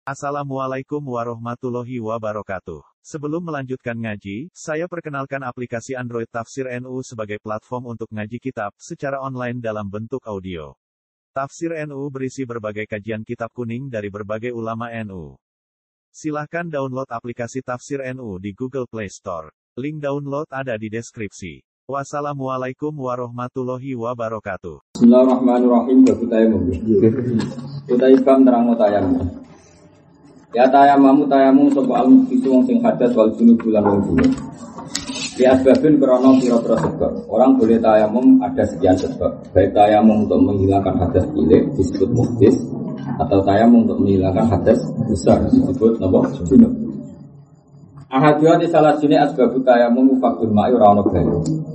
Assalamualaikum warahmatullahi wabarakatuh. Sebelum melanjutkan ngaji, saya perkenalkan aplikasi Android Tafsir NU sebagai platform untuk ngaji kitab secara online dalam bentuk audio. Tafsir NU berisi berbagai kajian kitab kuning dari berbagai ulama NU. Silahkan download aplikasi Tafsir NU di Google Play Store. Link download ada di deskripsi. Wassalamualaikum warahmatullahi wabarakatuh. Bismillahirrahmanirrahim. Kita ikam terang tayamum. Ya tayamum sapa al-mufisu wong sing hadas wal junub bulan wong junub. Di asbabin krono pira-pira sebab. Orang boleh tayamum ada sekian sebab. Baik tayamum untuk menghilangkan hadas cilik disebut muhdis, atau tayamum untuk menghilangkan hadas besar disebut napa? Junub. Ahadiyah di salah sini asbab tayamum faktul ma'i ora ono banyu.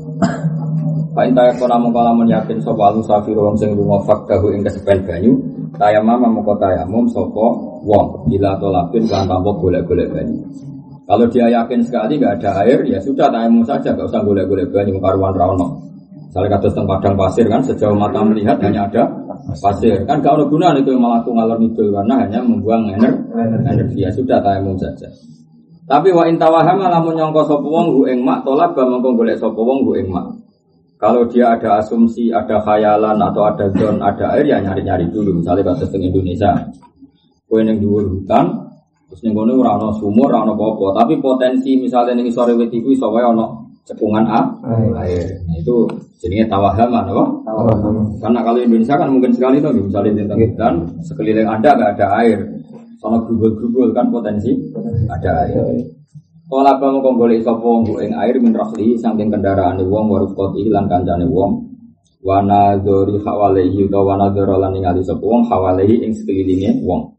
Fa inta yakuna mongkalamun yakin sapa al-musafir wong sing lunga fakdahu ing kesepen banyu, tayamum mongko tayamum sapa wong bila tolapin kan tanpa golek-golek banyu. Kalau dia yakin sekali enggak ada air, ya sudah tayamum saja, enggak usah golek-golek banyu karuan ra ono. Misalnya kados teng padang pasir kan sejauh mata melihat hanya ada pasir. Kan enggak ono gunane itu melaku ngalor ngidul karena hanya membuang energi. Ya sudah tayamum saja. Tapi wa intawahama lamun nyangka sapa wong hu ing mak tolak ba mongko golek sapa wong hu ing mak. Kalau dia ada asumsi, ada khayalan atau ada zon, ada air ya nyari-nyari dulu. Misalnya kados teng Indonesia. Kowe ning dhuwur hutan, terus ning kono ora ana sumur, ora ana apa-apa, tapi potensi misalnya ning isore wit iku iso wae ana cekungan air. Nah, itu jenenge tawahama, napa? Tawahama. Karena kalau Indonesia kan mungkin sekali tuh, misalnya tentang hutan, sekeliling Anda enggak ada air. Sono grubul-grubul kan potensi ada air. Kala bang mongko golek sapa wong ing air min rahli saking kendaraane wong warufqati lan kancane wong. Wa nadzuri hawalihi wa nadzura lan ningali sapa wong hawalihi ing sekelilinge wong.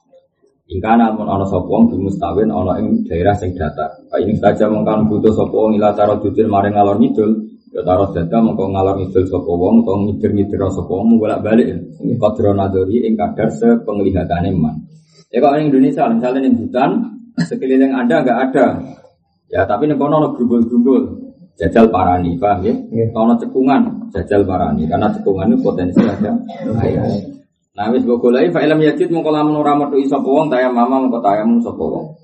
Ingkana mun ana sapa wong mustawin ana ing daerah sing datar. Kae ini saja mongkan butuh sapa wong ila cara jujur maring ngalor ngidul, ya taruh data mongko ngalor ngidul sapa wong utawa ngider-ngider sapa wong bolak-balik. Ini qadra nadzuri ing kadar sepenglihatane man. Ya kalau ning Indonesia misalnya ning hutan sekeliling Anda enggak ada. Ya tapi ning kono ana grumbul-grumbul. Jajal parani, paham ya? Ana cekungan, jajal parani karena cekungan itu potensi ada air. Nah wis mbok goleki fa ilm yajid mongko lamun ora metu sapa wong tayamum mongko tayamum sapa wong.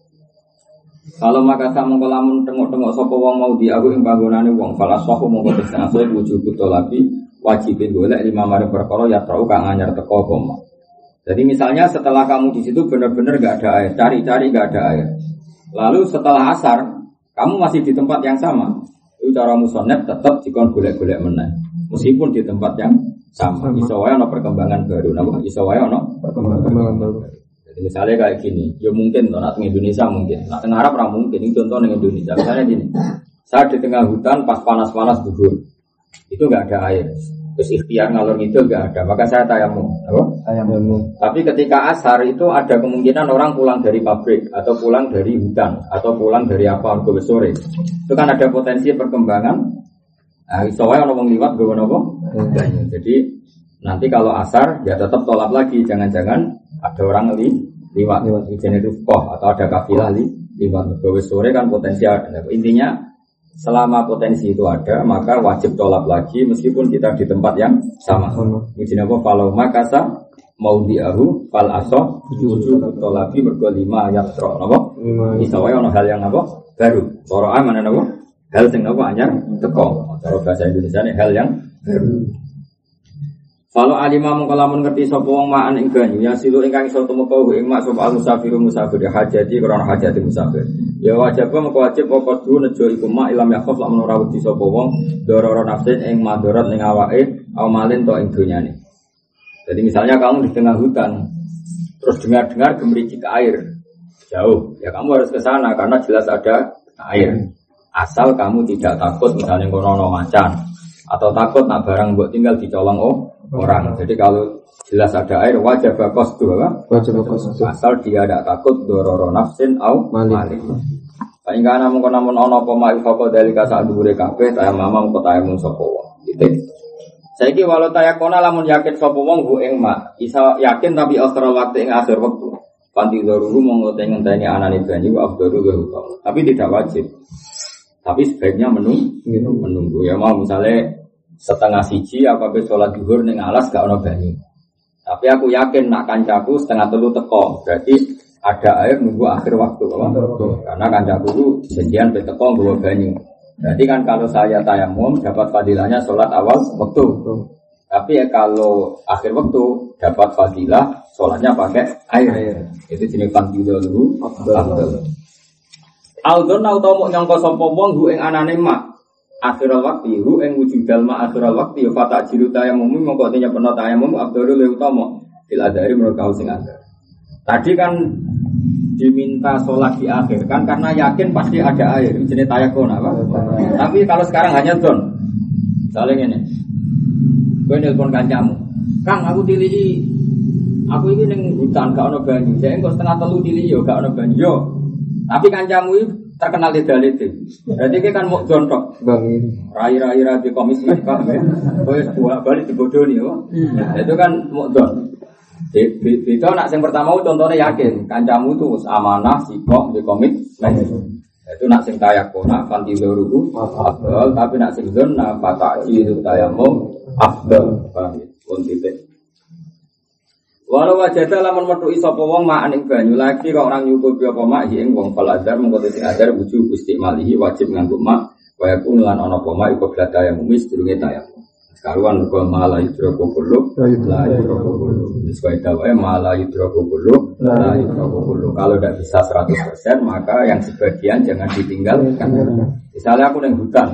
Kalau maka sak mongko lamun tengok-tengok sapa wong mau diaku ing panggonane wong falasahu mongko tesase wujud tolabi wajibin golek lima mari perkara ya trau kang anyar teko koma. Jadi misalnya setelah kamu di situ benar-benar enggak ada air, cari-cari enggak ada air. Lalu setelah asar, kamu masih di tempat yang sama. Itu cara musonnet tetap dikon golek-golek meneh. Meskipun di tempat yang sama. Iso wae ana perkembangan baru. Napa? Iso wae ana perkembangan baru. Jadi misalnya kayak gini, ya mungkin toh di Indonesia mungkin. Nah, tengah Arab ora mungkin. Ini contoh ning Indonesia. Misalnya gini. Saya di tengah hutan pas panas-panas gugur. Itu enggak ada air. Terus ikhtiar ngalor ngidul enggak ada, maka saya tayamum. Apa? Tayamum. Tapi ketika asar itu ada kemungkinan orang pulang dari pabrik atau pulang dari hutan atau pulang dari apa ke sore. Itu kan ada potensi perkembangan. Nah, iso wae ana wong liwat nggawa napa? Jadi nanti kalau asar ya tetap tolak lagi, jangan-jangan ada orang liwat jenis rufqah atau ada kafilah liwat ke sore kan potensi ada. Intinya selama potensi itu ada, maka wajib tolak lagi meskipun kita di tempat yang sama. Mujina apa? Falau makasa mau diahu fal asoh wujud tolabi mergo 5 ayat tro. Apa? Bisa wae ono hal yang apa? Baru. Cara mana apa? Hal sing apa anyar teko. Cara bahasa Indonesia ini hal yang baru. Kalau alimah mengkalamun ngerti sapa wong maan ing banyu ya silu ingkang iso tumeka ing mak sapa musafir hajati krana hajati musafir. Ya wajib mengko wajib pokok du nejo iku mak ilam yakhaf lamun ora wedi sapa wong dororo nafsin ing madarat ning awake amalin to ing donyane. Jadi misalnya kamu di tengah hutan terus dengar-dengar gemericik air jauh, ya kamu harus ke sana karena jelas ada air. Asal kamu tidak takut misalnya kono ana macan atau takut nak barang mbok tinggal dicolong orang. Jadi kalau jelas ada air wajib qasdu apa? Wajib qasdu. Asal dia tidak takut dororo nafsin au malik. Paling kana mung namun ana apa mak faqo dalika sak dhuwure kabeh tayamum kok tayamum sapa wong. Gitu. Saiki walau tayakona lamun yakin sapa wong hu ing mak, isa yakin tapi akhir waktu ing akhir waktu. Panti daruhu monggo ngenteni anane banyu afdalu wa tapi tidak wajib. Tapi sebaiknya menunggu ya mau misalnya setengah siji apa be sholat zuhur ning alas gak ono banyu. Tapi aku yakin nak kancaku setengah telu teko. Berarti ada air nunggu akhir waktu. Karena kancaku itu janjian peteko nggawa banyu. Berarti kan kalau saya tayamum dapat fadilahnya sholat awal waktu. Tapi kalau akhir waktu dapat fadilah sholatnya pakai air. Itu jenis fadilah dulu. Aldon atau mau nyangka sapa wong hu ing anane mak akhiral waktu hu ing wujudal mak akhiral waktu ya fata jiru tayamum mongko tenya peno tayamum abdul le utama fil adari menurut kau sing ada. Tadi kan diminta sholat di akhir kan karena yakin pasti ada air jenis tayakun apa. Tapi kalau sekarang hanya don. Misalnya ngene. Kowe nelpon kancamu. Kang aku tilihi aku ini ning hutan gak ono banyu. Saya engko setengah telu tilihi yo gak ono banyu. Yo. Tapi kancamu itu terkenal leda-leda. Berarti dia kan mau jontok. Rai-rai di komis kan. Kowe balik dibodohi yo. Itu kan mau don. Beda nak sing pertama contohnya yakin kancamu itu amanah sikok di komit. Itu nak sing tayakuna fantiluruhu afdal tapi nak sing zona fataki itu tayamum afdal. Pun titik. Walau wajada lamun metu sapa wong mak ning banyu lagi kok orang nyukupi apa mak ing wong faladar mengko sing adar wujub istimalihi wajib nganggo mak kaya kun lan ana apa mak iku blada yang mumis durunge tayamum. Karuan kok malah yudroko kulo la yudroko kulo. Wis kaya dawe malah yudroko kulo la yudroko kulo. Kalau tidak bisa 100% maka yang sebagian jangan ditinggalkan. Misalnya aku ning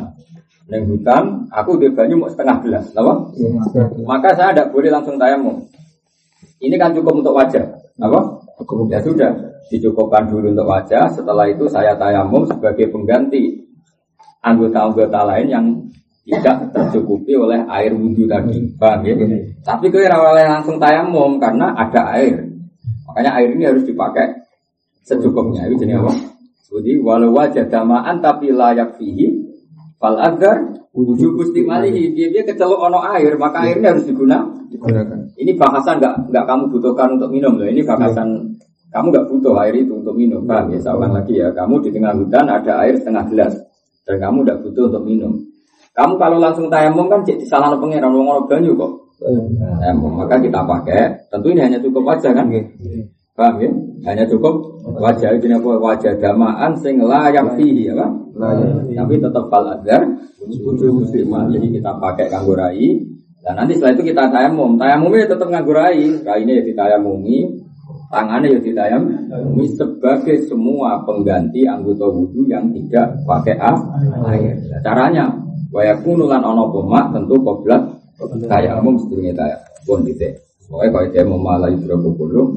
hutan aku di banyu mau setengah gelas, apa? Maka saya tidak boleh langsung tayamum. Ini kan cukup untuk wajah, apa? Ya sudah, dicukupkan dulu untuk wajah. Setelah itu saya tayamum sebagai pengganti anggota-anggota lain yang tidak tercukupi oleh air wudhu tadi, paham ya? Tapi kira langsung tayamum karena ada air. Makanya air ini harus dipakai secukupnya. Itu jenis apa? Jadi walau wajah damaan tapi layak fihi fal agar wujud istimalihi. Dia kecelok ono air, maka airnya harus digunakan. Ini bahasan enggak kamu butuhkan untuk minum loh. Ini bahasan kamu enggak butuh air itu untuk minum. Paham ya? Saya ulang lagi ya. Kamu di tengah hutan ada air setengah gelas dan kamu enggak butuh untuk minum. Kamu kalau langsung tayamum kan jadi salahno pangeran wong ora banyu kok. Maka kita pakai. Tentu ini hanya cukup wajah kan? Paham ya? Hanya cukup wajah. Ini apa? Wajah damaan sing layak fihi apa? Tapi tetap fal azhar wujud muslimah. Jadi kita pakai kanggo rai. Dan nanti setelah itu kita tayamum. Tayamumnya tetap nganggo rai. Rainya ya ditayamumi, tangannya ya ditayamumi sebagai semua pengganti anggota wudu yang tidak pakai air. Caranya wa yakunu lan ana poma tentu qoblat tayamum sedurunge tayamum. Pun titik. Pokoke kaya demo malah yudroku kulo.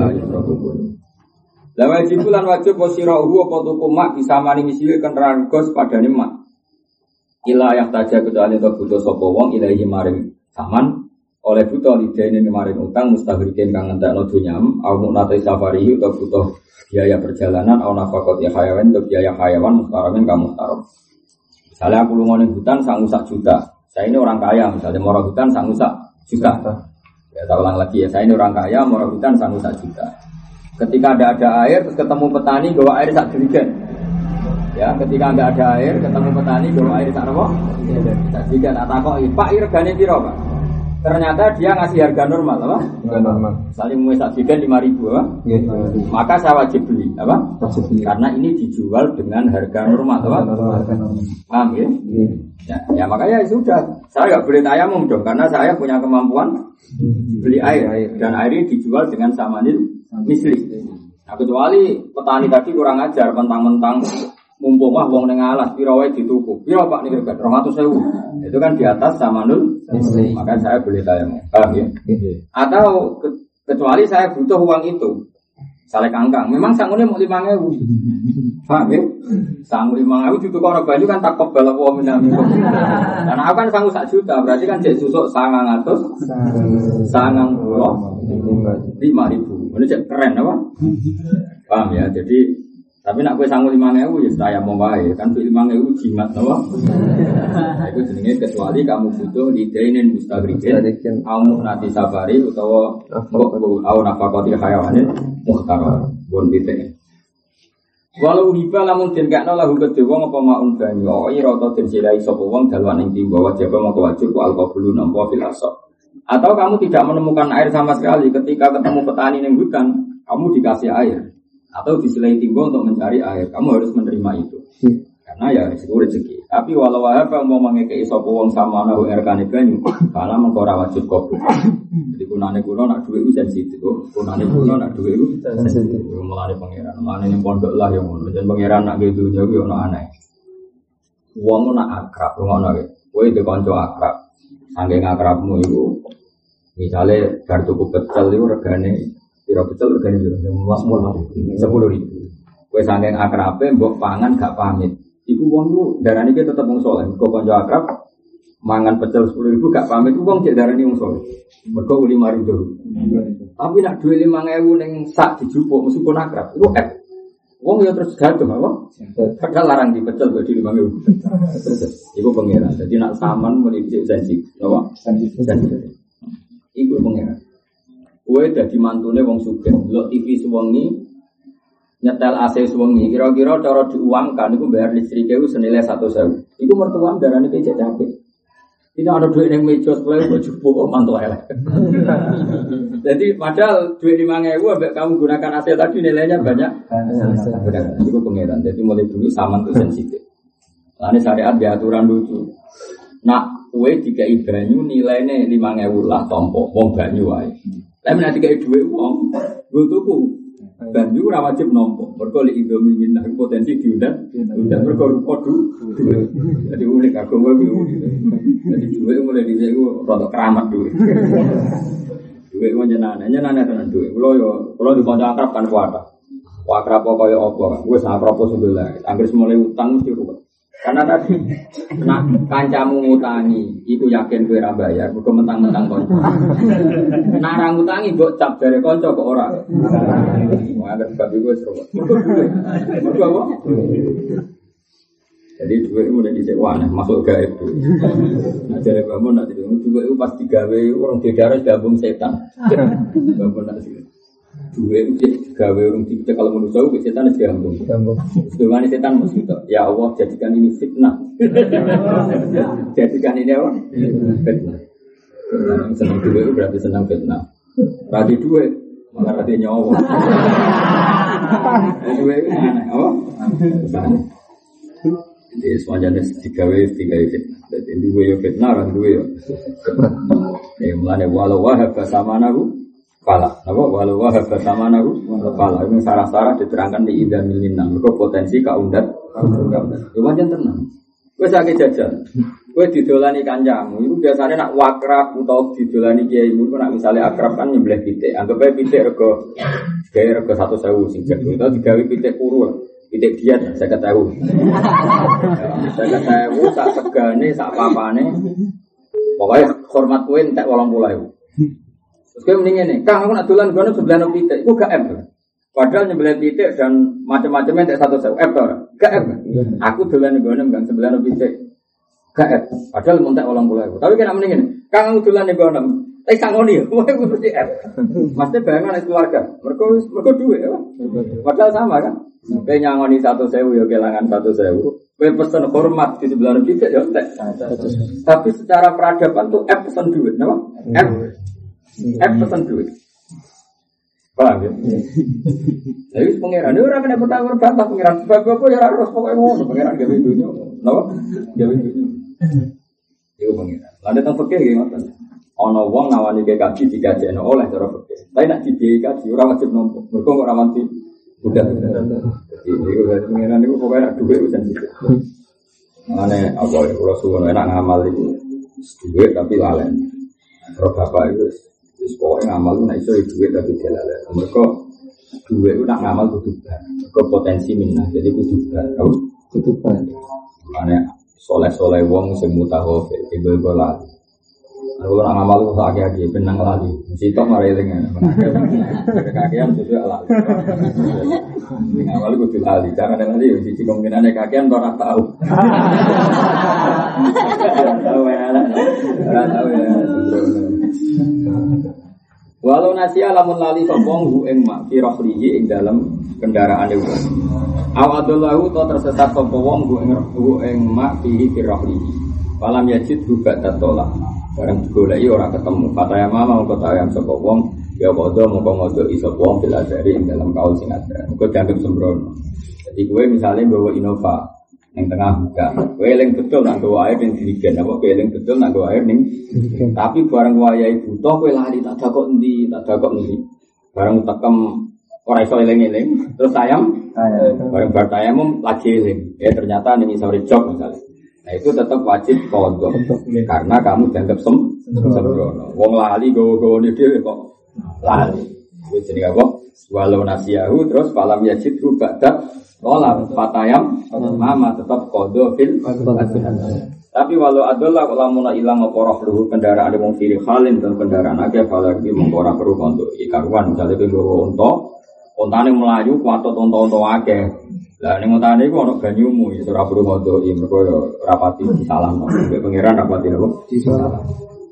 La wajib lan wajib posirahu apa tuku mak bisa mani misile kenteran gos padane mak. Ila yang taja kecuali untuk butuh sapa wong ilahi maring saman oleh butuh lidene maring utang mustaghrikin kang ngentekno dunyam au munate safari utawa butuh biaya perjalanan au nafaqat ya hayawan untuk biaya hayawan mustaramin kamu mustaram. Misalnya aku lunga ning hutan sangu 1 juta. Saya ini orang kaya misalnya mau hutan sangu 1 juta. Ya tak ulang lagi ya, saya ini orang kaya mau hutan sangu 1 juta. Ketika ada air terus ketemu petani bawa air sak jerigen. Ya, ketika enggak ada air, ketemu petani bawa air sak apa? Sak jerigen. Tak takoki, "Pak, regane piro, Pak?" Ternyata dia ngasih harga normal, apa? Harga normal. Misalnya mau sak jerigen 5.000, apa? Maka saya wajib beli, apa? Wajib beli. Karena ini dijual dengan harga normal, apa? Paham ya? Ya makanya sudah. Saya enggak boleh tayamum dong karena saya punya kemampuan beli air dan air ini dijual dengan samanil misli. Nah, kecuali petani tadi kurang ajar mentang-mentang mumpung wong ning alas pira wae dituku. Pira Pak niki 200.000. Itu kan di atas samanul misli. Maka saya boleh tayamum. Paham ya? Atau kecuali saya butuh uang itu. Saleh kangkang. Memang sangune mau 5.000. Paham ya? Sangu 5.000 ditukok ora banyu kan tak kebal apa minami. Karena aku kan sangu 1 juta, berarti kan jek susuk 900 5.000. Ini cek keren apa? Paham ya? Jadi tapi nak kowe sangu 5.000 ya saya mau wae kan 5.000 jimat apa? Nah, itu jenenge kecuali kamu butuh lidainin mustaghriqin au nanti safari utawa au nafaqati hayawanin muhtarar. Bon titik. Walau riba lamun den kakno lahu kedhe wong apa maun banyu ira ta den silai sapa wong dalwan ing timba wajib mongko wajib ku alqabulu nampa fil asab. Atau kamu tidak menemukan air sama sekali ketika ketemu petani ning hutan, kamu dikasih air. atau disilai timbo untuk mencari air. Kamu harus menerima itu. Karena ya itu rezeki. Tapi walau apa mau mengekei sapa wong samana wa erkane banyu, kala mengko ora wajib kabeh. Jadi gunane kuno nak duwe iku sensitif. Gunane kuno nak duwe iku sensitif. Mulane pangeran, mulane ning pondok lah ya ngono. Jan pangeran nak ge dunya kuwi ono aneh. Wong nak akrab ngono wae. Kowe di kanca akrab. Saking akrabmu iku misale bar tuku pecel iku regane pira pecel regane piro? 10.000. Kowe saking akrabe mbok pangan gak pamit. Iku wong ku darane iki tetep wong saleh. Kok kanca akrab mangan pecel 10.000 gak pamit ku wong cek darane wong saleh. Mergo 5.000. Tapi nak duwe 5.000 ning sak dijupuk meskipun akrab. Iku wong ya terus gaduh apa? Padahal larang dipecel kok di 5.000. Iku pengeran. Jadi nak saman muni cek janji. Napa? Janji. Iku pengeran. Kowe dadi mantune wong sugih, delok TV sewengi nyetel AC sewengi, kira-kira cara diuangkan itu bayar listriknya itu senilai 100.000. Itu mertuam darahnya kecek capek. Tidak ada duit yang meja sebelah itu cukup mantu elek. Jadi padahal duit 5.000 ambek kamu gunakan AC tadi nilainya banyak. Itu pengeran. Jadi mulai dulu saman itu sensitif. Lalu syariat di aturan lucu. Nak kue dikai banyu nilainya 5.000 lah tompo, wong banyu wae. Tapi nanti dikai duit wong, gue tuku. Banyu ora wajib nampa. Mergo lek indomie minah potensi diundang mergo rupa duit. Jadi unik agama kuwi. Jadi duit mulai dhisik ku rada keramat duit. Duit ku nyenane tenan duit. Kula di kanca akrab kan kuwata. Akrab kaya apa? Wis akrab sebelah. Anggere mulai utang mesti ruwet. Karena tadi nak kancamu ngutangi, iku yakin kowe ora bayar, mergo mentang-mentang kanca. Nak ora ngutangi mbok cap jare kanca kok ora. Wah, ada sebab iku wis ruwet. Mergo apa? Jadi duit itu mulai disewa, masuk gaib tuh. Ajaran bangun nak jadi duit itu pas digawe orang didarah gabung setan. Bangun nak sih. Duit itu digawe orang tidak kalau manusia itu setan itu gabung. Dengan setan mesti ya Allah jadikan ini fitnah. Jadikan ini apa? Fitnah. Senang duit itu berarti senang fitnah. Berarti duit malah berarti nyawa. Duit itu aneh, apa? Jadi semuanya tiga fitnah. Jadi dua yo fitnah, orang dua yo. Mulanya walau wahab bersama nahu, pala. Apa walau wahab bersama nahu, pala. Ini sarah-sarah diterangkan di Ida Milinang. Mereka potensi kaundat. Semuanya tenang. Kue sakit jajan. Kue didolani kancamu. Itu biasanya nak wakrab atau didolani kiaimu. Nak misalnya akrab kan nyembelih pitik. Anggap aja pitik rego 1.000 sing jago. Atau digawe pitik puru. Pitik diet, saya ketahui. Saya ketahui, sak segane, sak papane. Pokoknya hormat kue entek 80.000. Terus kue mendingin nih, Kang aku nak dolan gono sebelah pitik, itu gak M. Padahal nyembelih pitik dan macam-macamnya entek 100.000 M tuh, gak M. Aku dolan gono enggak sebelah pitik, gak M. Padahal entek 80.000. Tapi kena mendingin, Kang aku dolan gono. Sangoni ya, mau ikut di app. Maksudnya bayangan keluarga. Mereka duit ya. Padahal sama kan. Kayak nyangoni 1.000 ya kehilangan 1.000. Kayak pesan hormat di sebelah kita ya. Tapi secara peradaban tuh app pesan duit, apa? App pesan duit. Paham ya? Jadi pengiran ini orang kena bertanggung jawab pengiran. Sebab apa ya harus pokoknya ngono pengiran gawe dunya. Napa? Gawe dunya. Itu pengiran. Lalu tentang fikih gimana? Ono wong nawani ke kaji dikajekno oleh cara fikih. Tapi nak dibiayai kaji ora wajib nampa. Mergo ora mati budak. Jadi niku pengiran niku pokoke nak dhuwit wis sensitif. Mane apa ya kula suwun enak ngamal iku dhuwit tapi lalen. Terus bapak itu wis pokoke ngamal nek iso dhuwit tapi lalen. Mergo dhuwit ku nak ngamal kudu bar. Mergo potensi minah. Jadi kudu bar. Kudu bar. Mane soleh-soleh wong sing mutahafil tiba-tiba lali. Kalau nak ngamal itu sakit benang lali, sitok mareling. Kakian sesuai lali. Ngamal itu lali, jangan lali. Cici kemungkinan kakian orang tahu. Tahu ya. Walau nasiya lamun lali sopong hu ing mak firahlihi ing dalam kendaraan itu. Awadullahu to tersesat sopong hu ing mak firahlihi. Malam yajid hubat tatolah. Barang digoleki ora ketemu. Fataya mama kota ayam sapa wong Ya kodo mongko ngodo iso wong bil adari ing dalam kaul sing ada. Engko dianggap sembrono. Jadi kowe misalnya bawa Innova yang tengah buka, kowe eling betul nak gawa air ning dirigen apa kowe eling betul nak gawa air ning. Tapi bareng wayahe butuh kowe lali tak dakok endi. Bareng tekem ora iso eling-eling terus tayam. Bareng bar tayamum lagi eling. Ya ternyata ning isore jog misalnya. Nah itu tetap wajib kodo karena kamu dianggap sembrono. Wong lali gawa-gawane dhewe kok lali. Wis jenenge apa? Walau nasiyahu terus falam yajidhu ba'da sholat fatayam mama tetap kodo fil. Tapi walau adalah lamuna ilang apa rohluhu kendaraan wong fil halin dan kendaraan akeh falagi mengora perlu untuk ikaruan misalnya ke nggawa untane melayu kuatot unta-unta akeh. Lah ning untane iku ana banyumu ya ora perlu ngondo iki mergo ora pati salam. Pangeran ora pati napa? Salam.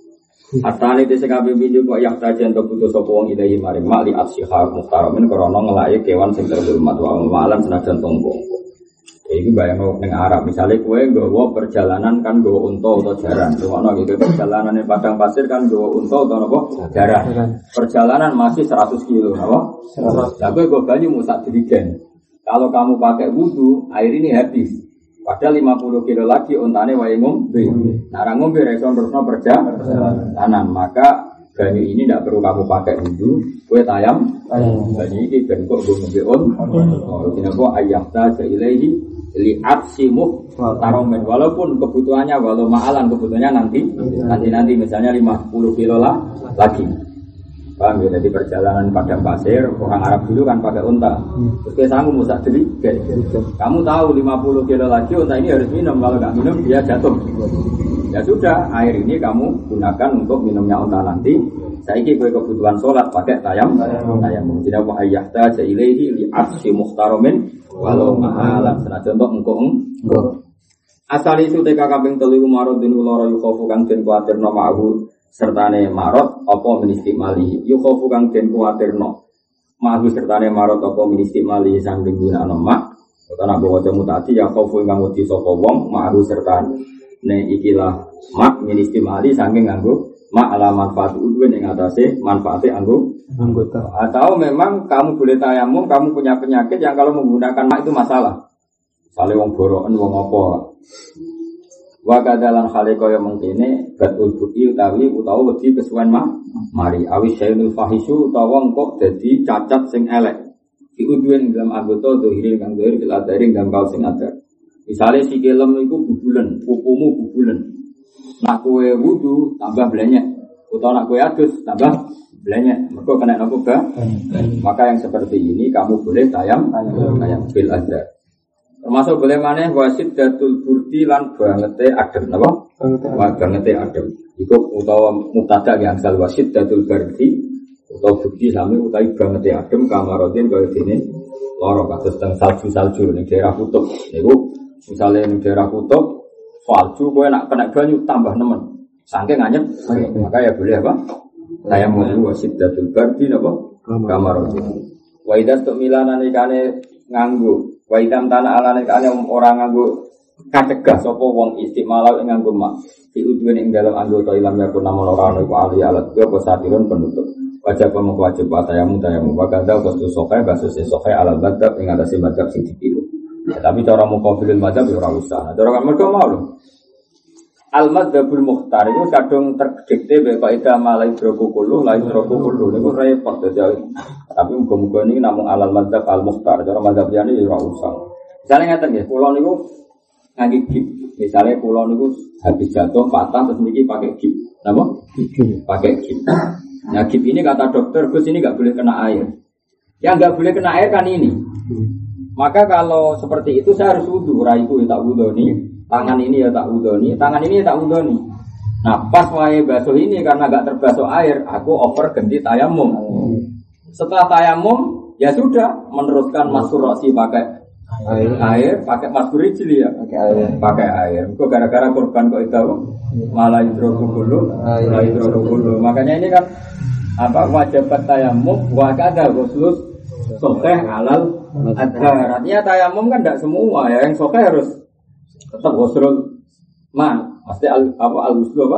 Atane dese kabeh winju kok yak tajen to putus sapa wong ilahi maring mak li asihar muhtaramin krana ngelake kewan sing terhormat wa malan senajan tonggo. Iki bayangno ning Arab misale kowe nggawa perjalanan kan nggawa unta utawa jaran. Ngono gitu perjalanane padang pasir kan nggawa unta utawa napa? Jaran. Perjalanan masih 100 kilo napa? 100. Lah kowe nggo banyu musak dirigen. Kalau kamu pakai wudu, air ini habis. Padahal 50 kilo lagi untane wae ngombe. Nah, ra ngombe reson terusno perjalanan, maka banyu ini tidak perlu kamu pakai wudu, kowe tayam. Banyu iki ben kok ngombe on. Kenapa ayahta ilaihi li aksimu taromen walaupun kebutuhannya walau mahalan kebutuhannya nanti misalnya 50 kilo lah lagi. Paham ya, jadi perjalanan padang pasir, orang Arab dulu kan pakai unta. Terus kayak sanggup musak diri, kamu tahu 50 kilo lagi unta ini harus minum, kalau nggak minum dia jatuh. Ya sudah, air ini kamu gunakan untuk minumnya unta nanti. Saya kira kebutuhan sholat pakai tayam. Tidak wa ayyahta jailehi li arsi muhtaromin walau mahalan. Senajan untuk engkau. Asal itu teka kaping telu marudin ulara yukhofu kang den kuatir nama aku. Sertane marot apa ministimali yukhofu kang den kuwatirno mahu sertane marot apa ministimali sanging gunakno mak utawa waca mutati ya khofu kang wedi sapa wong mahu sertane ikilah mak ministimali sanging nganggo mak ala manfaat udwen ing atase manfaate anggota atau memang kamu boleh tayamum kamu punya penyakit yang kalau menggunakan mak itu masalah sale wong boroken wong apa wa kadalan khale kaya mengkene batul buki utawi wedi kesuwen mari awis syai'ul fahishu utawa engko dadi cacat sing elek diuduen dalam anggota dohiri kang dohir fil adari dalam kaul sing ada misale sikilem iku bubulen pupumu bubulen nak kowe wudu tambah blenyek utawa nak kowe adus tambah blenyek mergo kena napa maka yang seperti ini kamu boleh tayam fil adar. Termasuk boleh maneh wasid datul burdi lan bangete adem napa? Bangete adem. Iku utawa mubtada yang asal wasid datul burdi utawa burdi sami utawi bangete adem kamarodin kaya dene lara kados teng salju ning daerah kutub. Niku misale ning daerah kutub salju kowe nak kena banyu tambah nemen. Saking anyep maka ya boleh apa? Tayamum wasid datul burdi napa? Kamarodin. Wa idas tuk milanane kane nganggo wa itam tanah alane kane ora nganggo kacegah sapa wong istimalau ing nganggo mak diudune ing dalam anggota ilam yakun namun ora ono iku ali alat yo satirun penutup wajib wajib tayamu wa kadza qastu sokai basus sokai alat badab ing atase badab sing dipilu tapi cara muqabilul madzhab yo ora usah cara kan mergo mau al madzhabul mukhtar itu kadung terdikte bae kaidah malai drokukulu lain drokukulu niku repot dadi tapi muga-muga niki namung alal madzhab al mukhtar cara madzhab liyane ya ora usah misale ngaten nggih kula niku ngangge gip misale kula niku habis jatuh patah terus niki pakai gip napa pakai gip nah gip ini kata dokter Gus ini enggak boleh kena air yang enggak boleh kena air kan ini maka kalau seperti itu saya harus wudu raiku tak wudu nih tangan ini ya tak udoni, tangan ini ya tak udoni. Nah pas wae basuh ini karena gak terbasuh air, aku over ganti tayamum. Setelah tayamum ya sudah meneruskan masuk rosi pakai air, pakai masuk rijli ya, pakai air. Kok gara-gara korban kok itu malah hidrokulu. Makanya ini kan apa wajibat tayamum, wakada khusus sokeh halal adhar. Artinya tayamum kan tidak semua ya, yang sokeh harus tetap wasrul man, pasti al-wuslu apa?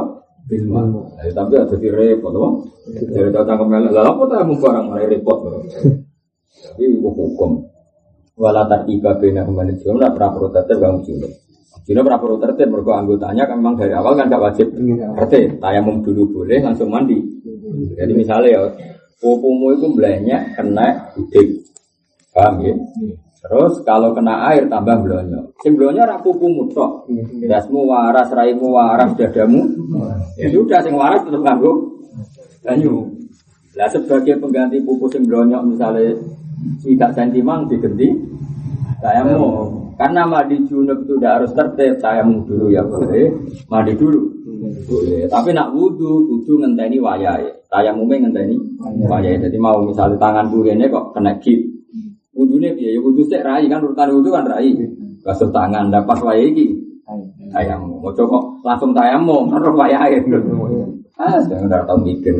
Bilma. Tapi ada di repot, apa? Dari datang ke melek, lah apa tak mau barang mulai repot, tapi hukum. Walau tiba bina kembali juga, praprotes tertib kamu juga. Jadi praprotes tertib mergo anggotanya kan memang dari awal kan tidak wajib. Tertib, tayamum dulu boleh langsung mandi. Jadi misalnya ya, pupumu itu belanya kena udik, paham ya? Terus kalau kena air tambah blonyo. Sing blonyo ora pupumu tok. Dasmu waras, raimu waras, dadamu. Ya sudah sing waras tetep nganggo banyu. Lah sebagai pengganti pupu sing blonyo misalnya 3 cm diganti tayamum. Karena mandi junub itu udah harus tertib, tayamum dulu ya boleh, mandi dulu. Boleh. Tapi nak wudu ngenteni wayahe. Tayamumnya ngenteni wayahe. Jadi mau misalnya tanganku rene kok kena gip. Wudune piye? Ya wudu sik rai kan urutan wudu kan rai. Basuh tangan ndak pas wayahe iki. Tayamum. Ojo kok langsung tayamum karo wayahe. Saya ndak tau mikir.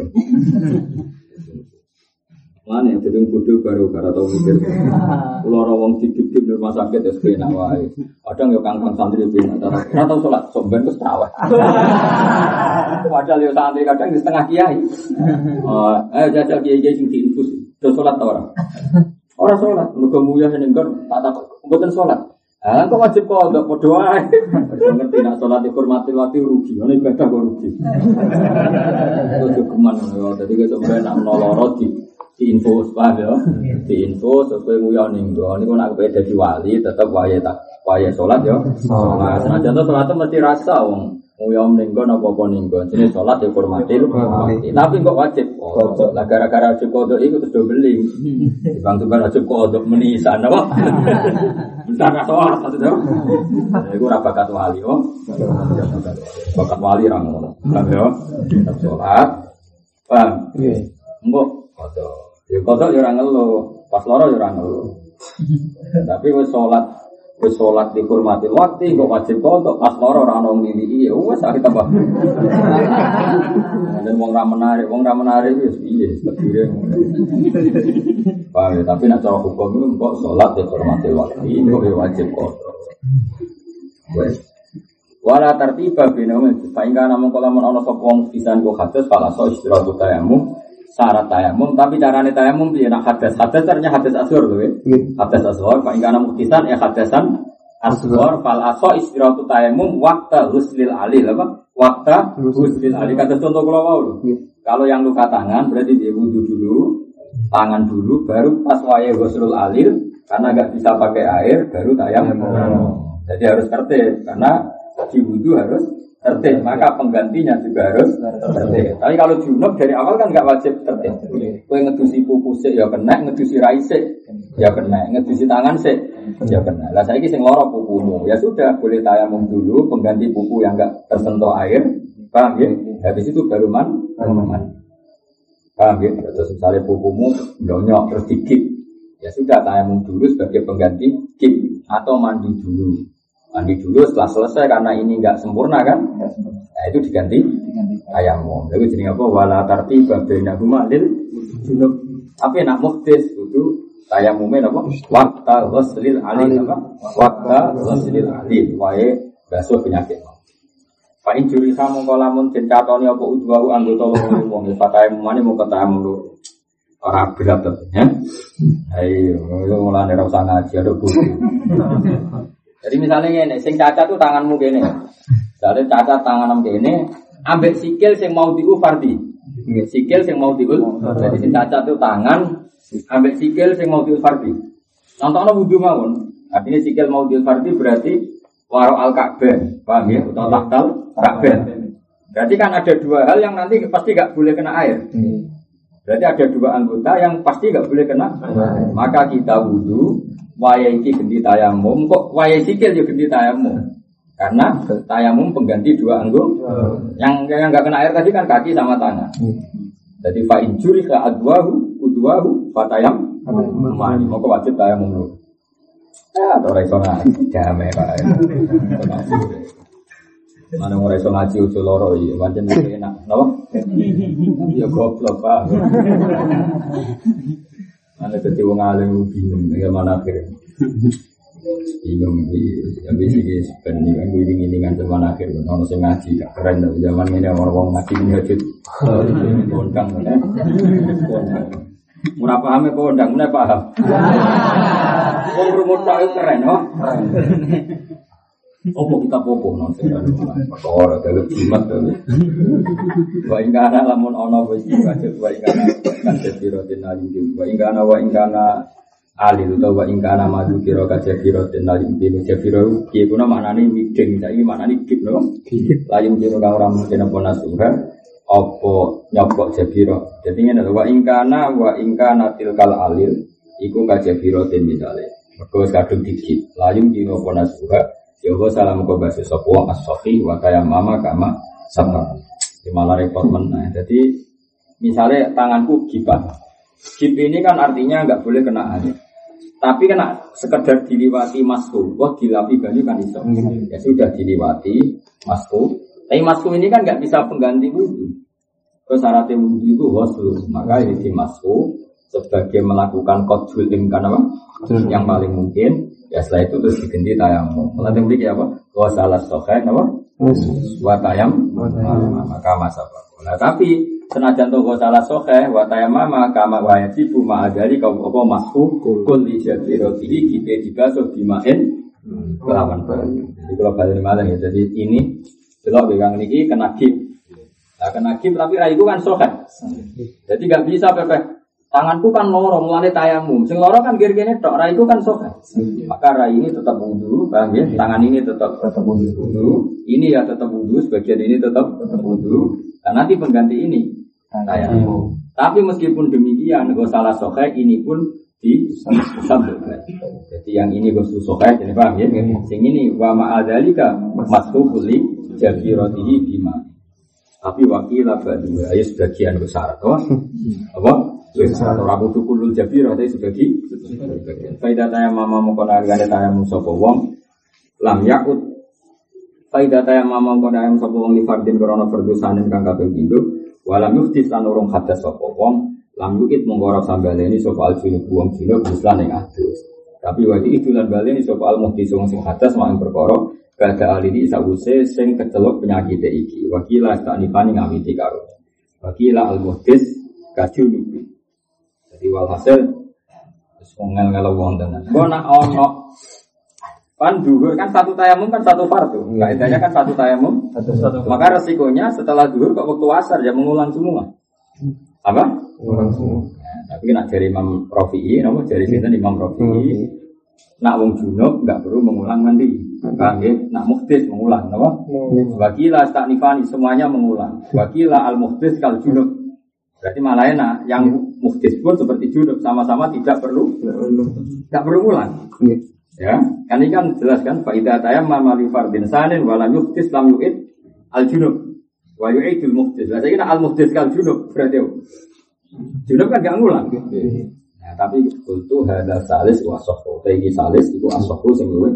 Mana yang jadi bodoh baru karena tahu mikir. Pulau rawang dikit di rumah sakit es benak wae. Kadang yo kangkang santri benak. Karena tahu sholat somben terus terawih. Padahal yo santri kadang di setengah kiai. Jajal kiai sing diinfus. Terus sholat ta ora? Ora sholat. Muga muya senenggon tak takut. Mboten sholat. Kok wajib kok ndak padha wae. Ngerti nak sholat dihormati waktu rugi. Ono ibadah kok rugi. Ojo keman ngono. Dadi kok sampeyan nak noloro diinfo paham ya, diinfo sesuai nguyon ninggo. Niku nak kepe dadi wali tetep wayahe salat ya. Salat. Senajan to salat mesti rasa wong nguyon ninggo napa-apa ninggo. Jenenge salat ya hormati. Tapi kok wajib kodok. Lah gara-gara wajib kodok iku terus do beling. Dibantu kan wajib kodok menisan apa? Entar salat to. Iku ora bakat wali oh. Bakat wali ra ngono. Paham ya? Salat. Paham? Nggih. Engko kodok. Ya kodok ya ora ngeluh, pas lara ya ora ngeluh. Tapi wis salat dihormati waktu kok wajib kodok, pas lara ora ono ngiliki ya wis arep tambah. Dan wong ra menarik wis piye tebire. Pak, tapi nek cara hukum itu kok salat dihormati waktu kok ya wajib kodok. Wes. Wala tartiba binaum faingka namung kalamun ana sapa wong pisan kok hadas fala so istirahat tayamum. Syarat tayamum, tapi carane tayamum piye nak hadas ternyata hadas asghar lho ya. Hadas asghar fa ingkana muktisan ya hadasan asghar fal aso istiratu tayamum waqta ghuslil alil apa? Waqta ghuslil alil kata contoh kula wau lho. Kalau yang luka tangan berarti dia wudu dulu, tangan dulu baru pas wayahe ghuslul alil karena enggak bisa pakai air baru tayamum. Jadi harus tertib karena di wudu harus tertib, maka penggantinya juga harus tertib. Tapi kalau junub dari awal kan nggak wajib tertib. Kue ngedusi pupu sik ya kena, ngedusi rai sik ya kena, ngedusi tangan sik ya kena. Lah saiki sing lara pupumu, ya sudah boleh tayamum dulu, pengganti pupu yang nggak tersentuh air, paham ya? Habis itu baru mandi. Paham ya? Terus misalnya pupumu blonyok terus dikip, ya sudah tayamum dulu sebagai pengganti kip atau mandi dulu. Mandi dulu setelah selesai karena ini enggak sempurna kan? Nah itu diganti tayamum. Lalu jadi apa? Wala tartiba bainahuma lil junub. Tapi nak muhdis itu tayamumnya apa? Waqta ghuslil alil apa? Waqta ghuslil alil. Wae basuh penyakit. Fa in juri kamu kalamun den catoni apa udwahu anggota wong tayamumane mau ketayamum lho. Ora berat ya. Ayo mulane ora usah ngaji ada buku. Jadi misalnya ini, sing cacat tuh tanganmu gini. Jadi cacat tanganmu gini, ambek sikil sing mau diu fardi. Sikil sing mau diu. Jadi sing cacat tuh tangan, ambek sikil sing mau diu fardi. Contohnya wudu mawon. Artinya sikil mau diu fardi berarti waro al ka'bah, paham ya? Atau tahtal ka'bah. Berarti kan ada dua hal yang nanti pasti gak boleh kena air. Berarti ada dua anggota yang pasti gak boleh kena. Maka kita wudu. Waya iki ganti tayamum, kok waya sikil juga ganti tayamum. Karena tayamum pengganti dua anggota. Yang enggak kena air tadi kan kaki sama tangan. Jadi fa injuri ka adwahu udwahu fatayam mani moko wajib tayamum dulu. Ya ora iso ngaji jame kae. Mana ora iso ngaji ojo loro iki, pancen enak, napa? Ya goblok, Pak. Ana dadi wong alim bingung bagaimana akhirnya. bingung ya bisi sebenarnya kan gue ingin zaman akhir orang sing ngaji gak keren tapi zaman ini orang ngaji menghajut kondang ya murah paham ya kondang mana paham orang rumah tak keren oh opo kita popo non perkara dalu jimat dalu wa ingkana lamun ana wis wajib wa ingkana kan sebirotin alim wa ingkana alil utawa ingkana madu kira kajabirotin alim bin jabiro ki kuna maknane mideng saiki maknane gip no layum jero kang ora mungkin apa nasuha apa nyopok jabiro dadi ngene wa ingkana tilkal alil iku kajabirotin misale mergo kadung digip layum jero apa nasuha Yoga salam kau bahasa sopo as-sofi wakaya mama kama sama. Malah repot menang. Jadi misalnya tanganku gipat. Gip ini kan artinya nggak boleh kena air. Tapi kena sekedar diliwati masku. Wah dilapi banyu kan iso. Ya sudah diliwati masku. Tapi masku ini kan nggak bisa pengganti wudhu. Syaratnya wudhu itu waslu. Maka ini di masku sebagai melakukan qadhul imkan apa? Yang paling mungkin. Ya setelah itu terus diganti tayamum. Nanti beli apa? Wa salah sokai apa? Wa tayam maka masa. Nah tapi senajan toh wa salah sokai wa tayam maka wajibu ma'adari kau apa masku kul di jabiroti kita dibasuh dimain kelawan banyu. Jadi kalau balik malah ya. Jadi ini belok begang niki kena gip. Nah kena gip tapi raiku kan sokai. Jadi nggak bisa pepeh. Tanganku kan loro, mulane tayamum. Sing loro kan gir-gire tok, rai itu kan sokan. Maka rai ini tetap wudu, paham ya? Tangan ini tetap wudu. Ini ya tetap wudu, sebagian ini tetap wudu. Dan nanti pengganti ini tayamum. Tapi meskipun demikian, gak salah sokai ini pun disambungkan. Jadi yang ini gak sokai, jadi paham ya? Sing ini wa ma'adzalika masbukuli jabirotihi bima. Tapi wakilah badu, ayo sebagian besar, apa? Atau rabu tukulul jabir atau sebagai faidah tayam mama mukona gade tayam sopo wong lam yakut faidah tayam mama mukona tayam sopo wong li fardin korona perdusanin kang kaping pindho walam yuktis lan urung hadas sopo wong lam yukit menggorok sambaleni sopo al junub wong junub islan ing adus tapi wadi itu lan baleni sopo al muhtis wong sing hadas mak perkara kada alini sawuse sing kecelok penyakit iki wakila stanipani ngamiti karo wakila al muhtis kajunub. Jadi walhasil ngel-ngel wong tenan. Kok nak ono pan dhuwur kan satu tayamum kan satu fardu. Kaidahnya kan satu tayamum satu. Maka resikonya setelah dhuwur kok waktu asar ya mengulang semua. Apa? Mengulang semua. Tapi nak dari Imam Rafi'i, nama dari sinten Imam Rafi'i. Nak wong junub enggak perlu mengulang mandi. Kan nggih, nak muhdits mengulang, apa? Wakila stanifani semuanya mengulang. Wakila al muhdits kal junub. Berarti malah enak, yang muhdits pun seperti junub sama-sama tidak perlu ulang. Ya, kan ini kan jelas kan faidah tayammum li fardin sanin wa lam yuhdits lam yu'id al junub wa yu'idul muhdits. Lah saiki al muhdits kal junub berarti junub kan enggak ngulang. Nah, tapi kultu hadza salis wa sahhu. Iki salis iku asahhu sing luwih.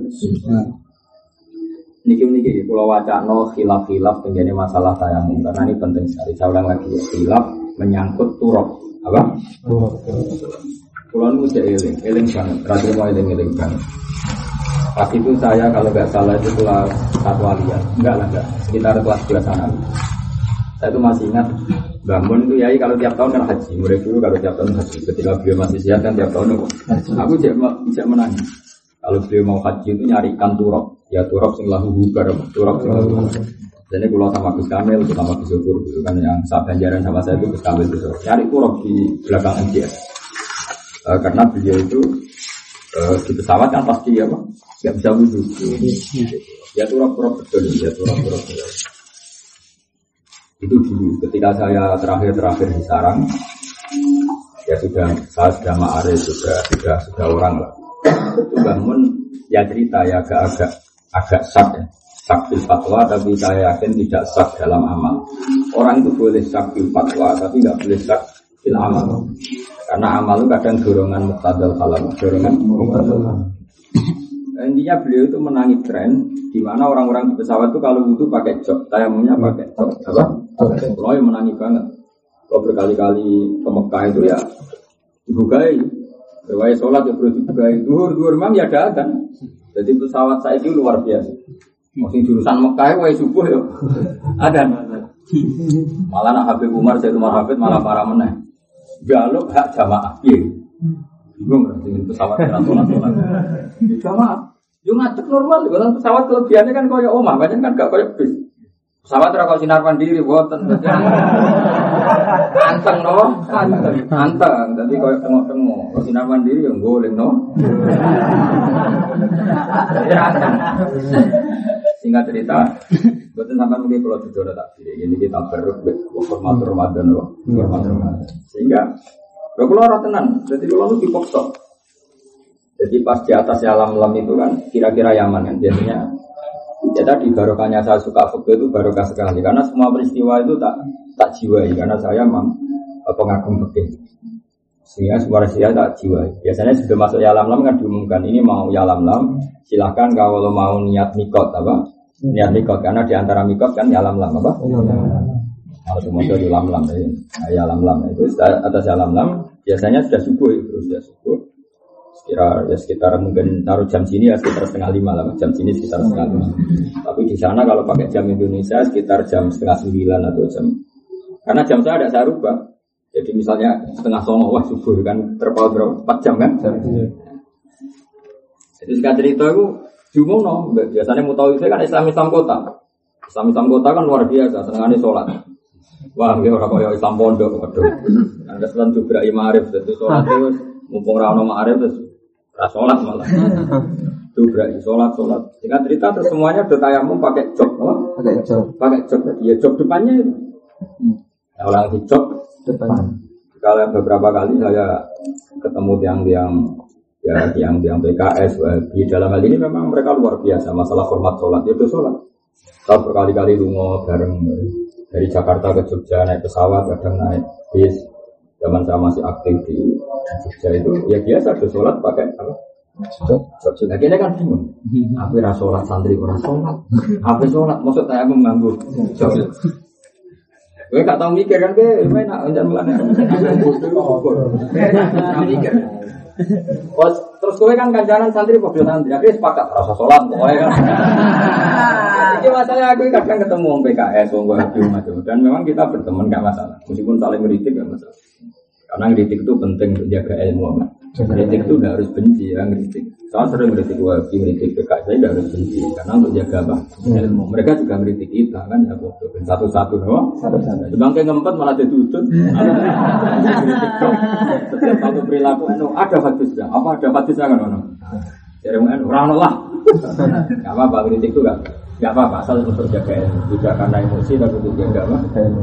Niki kula wacana khilaf-khilaf tentang masalah tayamum karena ini penting sekali. Saya ulang lagi ya, khilaf menyangkut turab apa? Pulau nu eling banget, terakhir mau eling banget. Pas itu saya kalau nggak salah itu kelas 1 aliyah, enggak, sekitar kelas 2 sana. Saya itu masih ingat bangun itu yai kalau tiap tahun kan haji, murid dulu kalau tiap tahun haji. Ketika beliau masih sehat kan tiap tahun aku tidak menangis. Kalau beliau mau haji itu nyarikan turab, ya turab sing lahu hubar, turab sing lahu hubar. Jadi kalau sama Gus Kamil, sama Gus Syukur, gitu kan yang saat ganjaran sama saya itu Gus Kamil itu nyari turab di belakang MTS. Karena beliau itu di pesawat kan pasti apa, nggak bisa wudhu. Ya turab-turab betul, ya turab-turab betul. Itu dulu ketika saya terakhir di sarang, ya saya sudah ma'arif, sudah orang lah. Itu bangun ya cerita ya agak sak ya. Sak fil fatwa tapi saya yakin tidak sak dalam amal. Orang itu boleh sak fil fatwa tapi nggak boleh sak fil amal. Karena amal itu kadang dorongan muqtadal kalam, dorongan muqtadal. Intinya beliau itu menangi tren di mana orang-orang di pesawat itu kalau wudhu pakai jok, tayamumnya pakai jok. Apa? Kalau yang menangi banget. Kalau berkali-kali ke Mekah itu ya dibukai. Riwayat sholat ya perlu dibukai. Duhur imam ya ada kan. Jadi pesawat saya itu luar biasa. Masih jurusan Mekah, wae subuh ya. Ada. Malah nak Habib Umar, saya Umar Habib malah marah meneh. Jaluk hak jamaah. Iya. Bingung dengan pesawat sholat. Jamaah. Yo ngadeg normal, kalau pesawat kelebihannya kan koyo omah, banyak kan gak koyo bis. Pesawat ora kok sinar mandiri boten. Anteng no, anteng. Dadi koyo tengok-tengok. Kok sinar mandiri yo goleng no. Singkat cerita, boten sampean mungkin kalau jujur tak ini kita beruk hormat Ramadan loh, hormat Ramadan. Sehingga kalau orang tenang, jadi kalau lu dipaksa. Jadi pas di atas alam-alam itu kan kira-kira Yaman kan biasanya. Ya tadi barokahnya saya suka fikih itu barokah sekali karena semua peristiwa itu tak jiwai karena saya memang pengagum fikih. Sehingga semua peristiwa tak jiwai. Biasanya sebelum masuk ya alam-alam kan diumumkan ini mau ya alam-alam, silakan kalau mau niat mikot apa? Niat mikot karena di antara mikot kan ya alam-alam apa? Kalau semua itu alam-alam ya alam-alam itu atas alam-alam biasanya sudah subuh itu sudah subuh. Sekitar mungkin taruh jam sini ya sekitar 4:30 lah, jam sini sekitar 4:30. Tapi di sana kalau pakai jam Indonesia sekitar jam 8:30 atau jam. Karena jam saya ada saya rubah. Jadi misalnya 8:30 wah subuh kan terpaut berapa 4 jam kan? Jadi sekarang cerita itu jumono. Biasanya mutawif kan Islam kota. Islam kota kan luar biasa, senengane sholat. Wah, dia orang kaya Islam pondok, waduh. Ada selan juga Imarif, jadi sholat itu mumpung rano Ma'arif terus sholat malah. Juga sholat. Singkat cerita terus semuanya bertayamum pakai jok, pakai jok. Ya jok depannya itu. Nah, orang di jok depan. Kalau beberapa kali saya ketemu tiang PKS di dalam hal ini memang mereka luar biasa masalah hormat sholat. Itu sholat. Saya berkali-kali lungo bareng dari Jakarta ke Jogja naik pesawat, kadang naik bis. Zaman saya masih aktif di Jogja itu, ya biasa ada sholat pakai apa? Jogja. Akhirnya kan bingung. Aku ora sholat santri ora sholat. Aku sholat, maksud saya mengganggu Jogja. Gue gak tau mikir kan, gue enak jangan melane. Mikir. Terus gue kan kancanan santri padha santri, akhirnya sepakat rasa sholat pokoknya kan. Jadi masalahnya aku kadang ketemu orang PKS, orang Wahabi macam, dan memang kita berteman gak masalah, meskipun saling ngeritik gak masalah. Karena ngeritik itu penting untuk jaga ilmu. Ngeritik itu gak harus benci ya ngeritik. Saya sering ngeritik Wahabi, ngeritik PKS, saya gak harus benci karena untuk jaga apa? Ilmu. Mereka juga ngeritik kita kan ya satu-satu doang. Sebangke ngempet malah ditutut. Setiap satu perilaku ada hadisnya. Apa ada hadisnya kan ono? Jadi orang lah. Gak apa-apa ngeritik itu gak apa-apa asal untuk jaga ilmu. Tidak karena emosi tapi untuk jaga apa?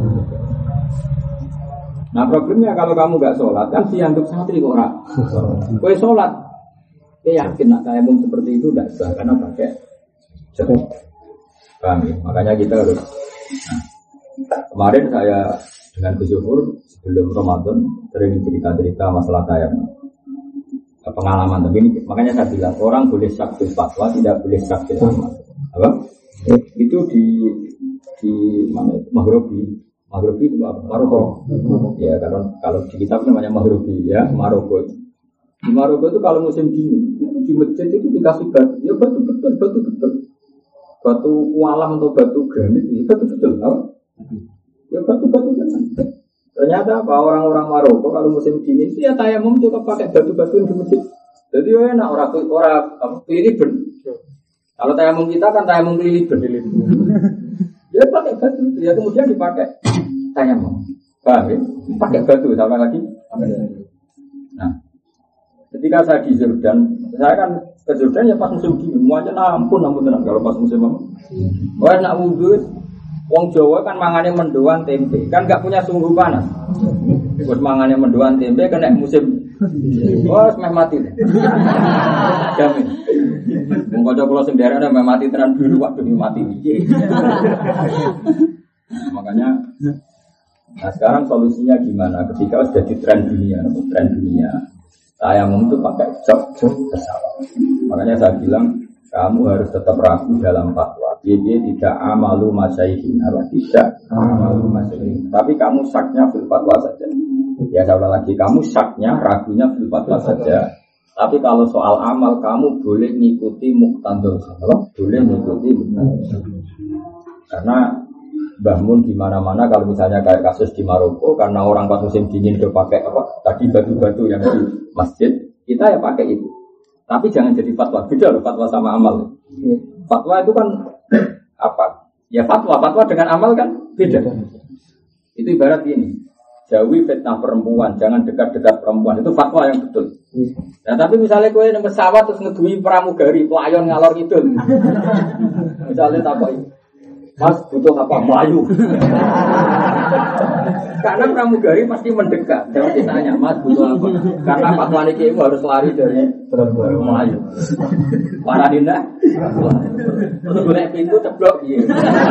Nah problemnya kalau kamu gak sholat kan dianggap santri kok ora. Kowe sholat, kowe yakin nak tayamum seperti itu tidak sah karena pakai jok. Paham ya? Makanya kita harus. Kemarin saya dengan Gus Yufur sebelum Ramadan sering cerita-cerita masalah tayamum. Pengalaman, tapi ini makanya saya bilang orang boleh syak fil fatwa, tidak boleh syak fil amal. Apa? Itu di mana? Maghribi itu apa? Maroko. Ya kalau di kitab namanya Maghribi ya, Maroko. Di Maroko itu kalau musim dingin itu di masjid itu dikasih batu, ya batu betul. Batu alam atau batu granit itu batu betul. Ya batu tenang. Ternyata apa orang-orang Maroko kalau musim dingin itu ya tayamum juga pakai batu-batu di masjid. Jadi enak orang kelilipan. Kalau tayamum kita kan tayamum kelilipan. Ya pakai batu, ya kemudian dipakai tayamum. Paham ya? Pakai batu sama lagi. Nah, ketika saya di Jordan, saya kan ke Jordan ya pas musim dingin. Semuanya ampun tenang kalau pas musim apa. Wah nak wudhu, wong Jawa kan mangane mendoan tempe, kan nggak punya sumbu panas. Buat mangane mendoan tempe kena musim. Wah, semeh mati. Jamin. Wong kanca kula sing daerah nek mati tenan biru waktu mati. Makanya nah sekarang solusinya gimana ketika sudah di tren dunia tayamum itu pakai jok pesawat. Makanya saya bilang kamu harus tetap ragu dalam fatwa. Dia tidak amalu masyaihin, tidak amalu masyaihin. Tapi kamu saknya fil fatwa saja. Ya saya ulang lagi, kamu saknya ragunya fil fatwa saja. Tapi kalau soal amal kamu boleh ngikuti muqtadul khalaf, boleh ngikuti muqtadul. Karena Mbah Mun di mana-mana kalau misalnya kayak kasus di Maroko karena orang pas musim dingin udah pakai apa? Tadi batu-batu yang di masjid, kita ya pakai itu. Tapi jangan jadi fatwa. Beda loh fatwa sama amal. Fatwa itu kan apa? Ya fatwa dengan amal kan beda. Itu ibarat ini. Jauhi fitnah perempuan, jangan dekat-dekat perempuan. Itu fatwa yang betul. Nah, tapi misalnya kowe nang pesawat terus ngedui pramugari, pelayon ngalor ngidul. Misalnya takoi, Mas butuh apa? Melayu. Karena pramugari pasti mendekat. Jangan ditanya, Mas butuh apa? Karena fatwa niki harus lari dari Melayu. Para dinda. Terus golek pintu ceblok piye.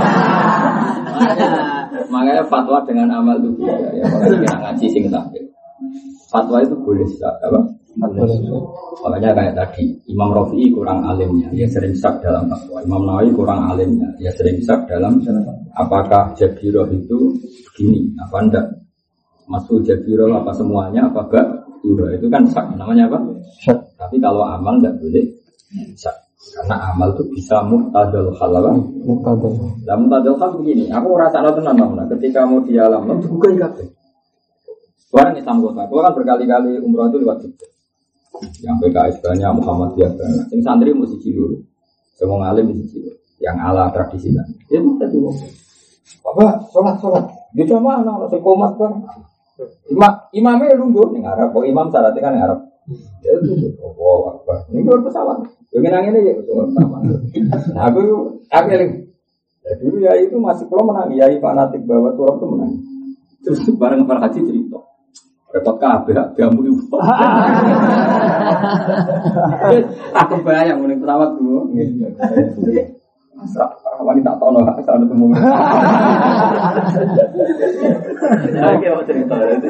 Makanya fatwa dengan amal itu beda. Ya, kalau kita ngaji sing takdir. Fatwa itu boleh apa? Makanya kayak tadi Imam Rafi'i kurang alimnya, dia sering sak dalam fatwa. Imam Nawawi kurang alimnya, dia sering sak dalam apakah Jabiroh itu begini, apa enggak? Masuk Jabiroh apa semuanya, apa enggak? Itu kan sak, namanya apa? Sak. Tapi kalau amal enggak boleh sak. Karena amal itu bisa muqtadul khalaf. Lah muqtadul khalaf begini, aku rasanya tenan Bang, ketika mau di alam itu bukan kabeh. Orang Islam kota, aku kan berkali-kali umroh itu lewat Jogja. Yang PKS banyak, Muhammadiyah banyak. Yang santri mesti cilur, semua ngalim mesti cilur. Yang ala tradisi kan. Ya kita juga. Apa? Sholat. Dia cuma anak sekomat kan. Imamnya lungguh nih Arab. Kok imam syaratnya kan Arab. Ya itu. Oh Akbar. Ini luar pesawat. Yang nangin aja sama. Nah aku yang dulu ya itu masih kalau menang. Ya fanatik bahwa turun itu menang. Terus bareng para haji cerita. Repot kabeh gamu ibu. Aku bayang mending pesawat dulu. Masa wanita tono asal ketemu. Oke, mau cerita itu.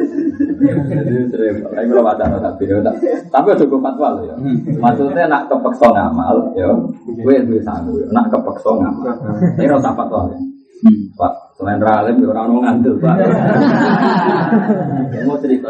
Ayo kalau baca tapi udah gue fatwa loh ya. Maksudnya nak kepeksa ngamal, ya. Gue sanggup. Nak kepeksa ngamal. Ini rasa fatwa ya. Pak, selain ralim, orang mau ngandel Pak. Mau cerita.